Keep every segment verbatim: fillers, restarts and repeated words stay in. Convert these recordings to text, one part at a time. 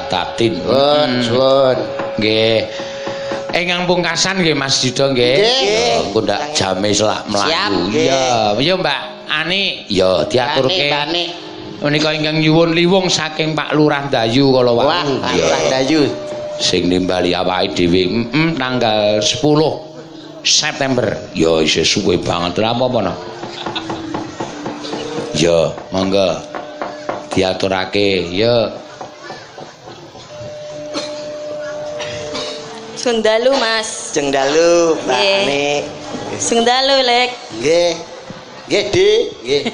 Batatin. Suwun, suwun. Nggih. Ingkang pungkasan nggih Mas Yuda nggih. Nggih. Engko ndak jame selak mlayu. Iya, iya Mbak Ani. Ya diaturke. Ani, Menika ingkang nyuwun liwung saking Pak Lurah Dayu kala wau. Wah, Pak Lurah Dayu. Sing nimbali awake dhewe mm, tanggal sepuluh September. Ya isih suwe banget lha apa-apa no. Ya, monggo diaturake ya. Sing dalu Mas. Jeng dalu, Mbak Nggih. Ani. Sing dalu Lek. Nggih. Nggih, Dik. Nggih.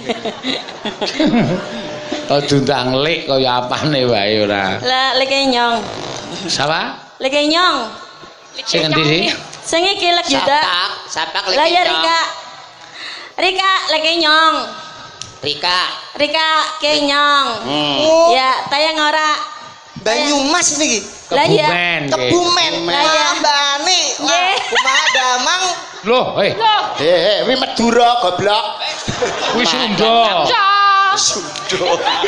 Aja ndang lek kaya apane wae ora. Lah Lek nyong. Sapa? Lek nyong. Sing endi sih? Sing iki Lek Yuda. Sapak, sapak Lah ya Nyong. Rika. Rika Lek nyong. Rika. Rika kenyong. Hmm. Ya, tayang ora. Banyumas niki. Lah ya. Kebumen. nggih. Kebumen. Lah ya. Mbak Ani. Nggih. Kumaha damang. Loh, eh, Heh, heh, wi Madura goblok. kuwi Sunda. Sunda.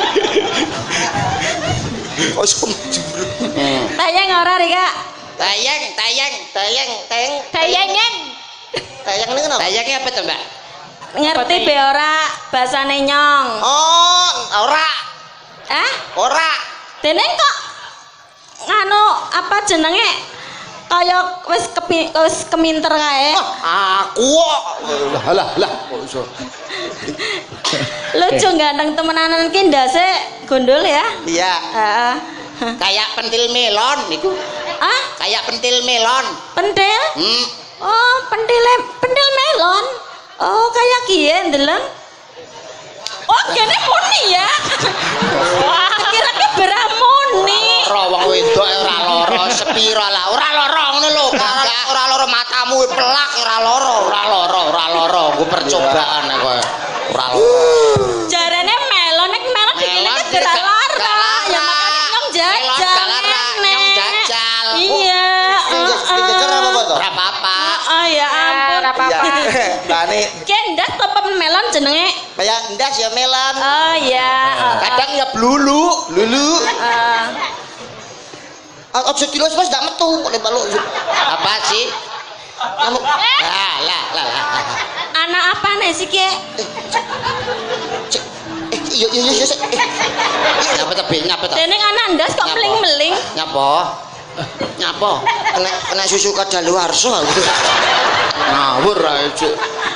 Kok Sunda. Tayang ora Rika. Tayang, tayang, tayang, tayang. Tayangan. Tayang ini kenapa? Tayangnya apa tuh, Mbak? Ngerti be ora basane nyong. Oh, ora. Eh? Ora. Dene kok nganu apa jenenge kaya wis kepi, wis keminter kae. Aku kok. Lah lah lah kok iso. Lucu ganteng temenanan ki ndase gondol ya. Iya. Heeh. Kayak pentil melon niku. Ah, Kayak pentil melon. pentil? Hmm. Oh, pentil pentil melon. Oh, kayak kie ndeleng. Oh, kene muni ya. Wah, kira-kira beramuni. Ora wong wedok ora lara sepira lah. Ora lara ngono lho. Ora lara matamu pelak ora lara, ora lara, ora lara. Ku percobaan kowe. Ora lara. Jarane melon nek melon dikene ora lara. Ya makane nyong jajal. Nyong jajal. Iya. Ora apa-apa. Oh ya ampun. Ora apa-apa. Bane Kendas apa melon jenenge? kayak ndas ya melon. Oh ya. Kadang ya blulu, lulu. Heeh. Aja kilos Mas ndak metu kok baluk. Apa sih? Kamu lah lah lah. Anak apa nih sih ki? Eh, iya iya iya. Nyapa tebe, nyapa ta? Deneng anak ndas kok meling-meling. Nyapa? Nyapa? Kena kena susu kadaluwarsa aku. Ngawur ae, Cuk.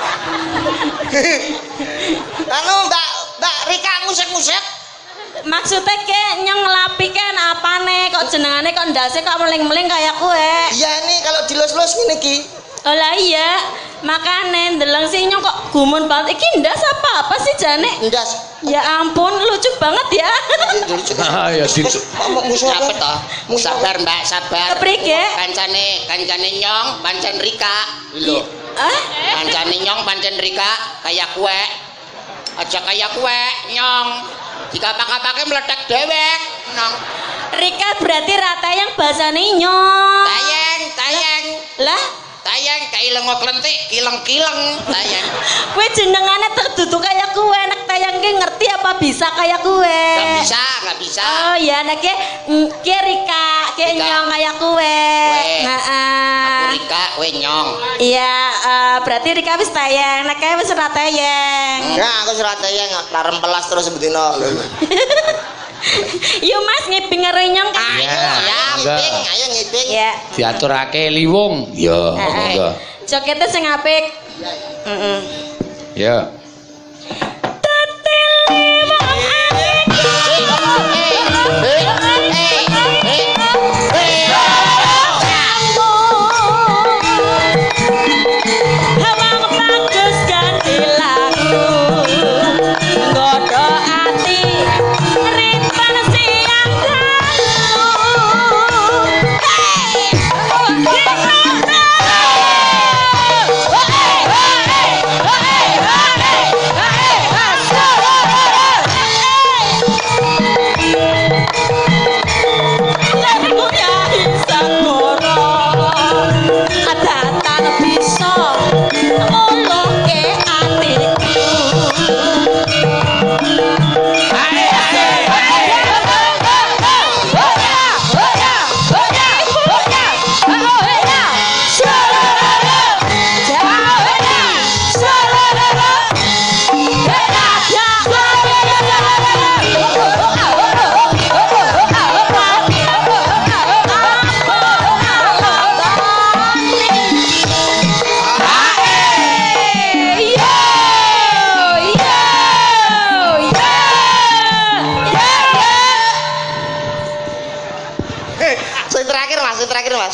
Anu Mbak, Mbak Rika musik-musik. Maksudnya ke nyong ngelapikan apane kok jenengane kok ndase kok meling-meling kayak kue. Iya nih kalau dilus-lus ngene iki. Oh lah iya, makane ndeleng sih nyong kok gumun banget. Iki ndas apa apa sih jane? Ndas. Ya ampun, lucu banget ya. Ah ya di Musuh apa toh? Sabar Mbak, sabar. Keprike? Kancane, kancane nyong, pancen Rika. Lho. Ah? Kancane nyong pancen Rika kayak kue. Aja kayak kue nyong. Dikapak-kapake meledak dewek nyong. Rika berarti rata yang bahasane nyong. Tayang, tayang. Lah, Tayang kaileng klentik, kileng-kileng tayang. kue jenengane terdudu kayak kue. Nek tayang ki ngerti apa bisa kayak kue? Gak bisa, gak bisa. Oh ya, nek ki mm, ki Rika, ki Rika. nyong kayak kue. Kue. Heeh. Aku Rika, kowe nyong. Iya, eh, berarti Rika wis tayang, nek kae wis ora tayang. Enggak, aku surat tayang larem pelas terus bedino. Yuk Mas ngiping nyong kan. Ayo, ya, ngiping, ayo ngiping. Ya. diaturake liwung. Ya, monggo. Jokete sing apik. Heeh. Ya. Hey!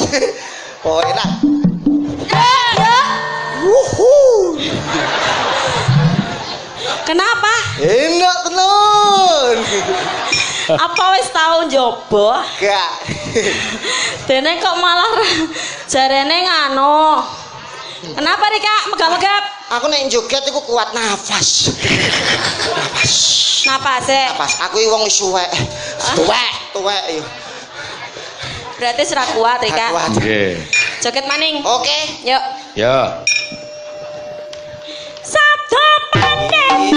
Oh, enak. Ya. Wuhu. Kenapa? Enak tenan. Apa wis tau njoba? Gak. Dene kok malah jarene ngano. Kenapa Rika megap-megap? Aku nek joget iku kuat nafas. Nafas. Napas e. Nafas. Aku iki wong wis suwek. Tuwek, tuwek yo. Berarti serak kuat Rika. Nggih. Joget maning. Oke. Yuk. Yo. Sabdo pandai.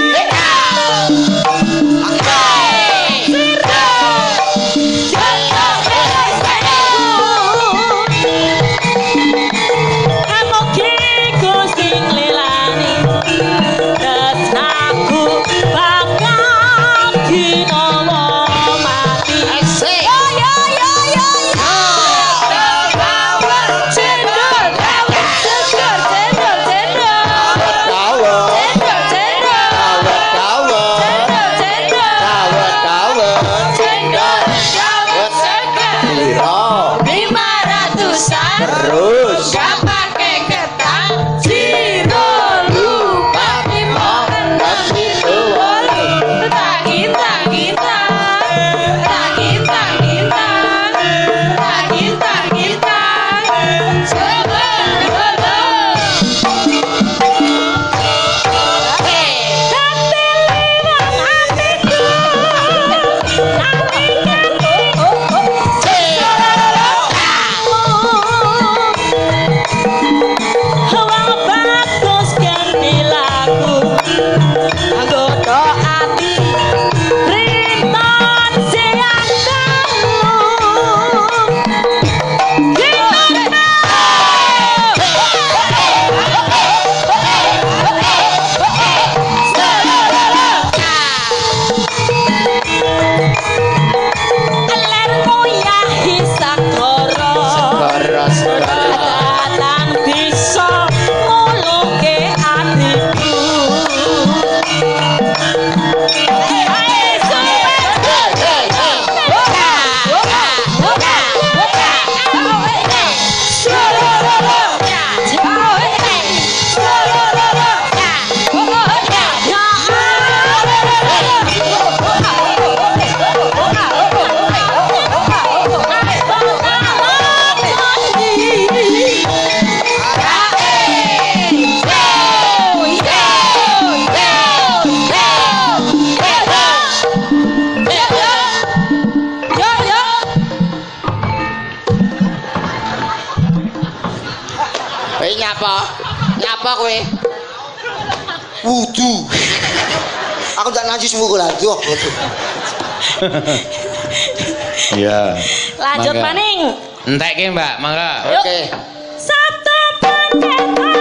Nyapa kowe? Wudu. Aku ndak najis wudu lagi kok. Iya. Lanjut maning. Entekke, Mbak, mangga. Oke. Satu paket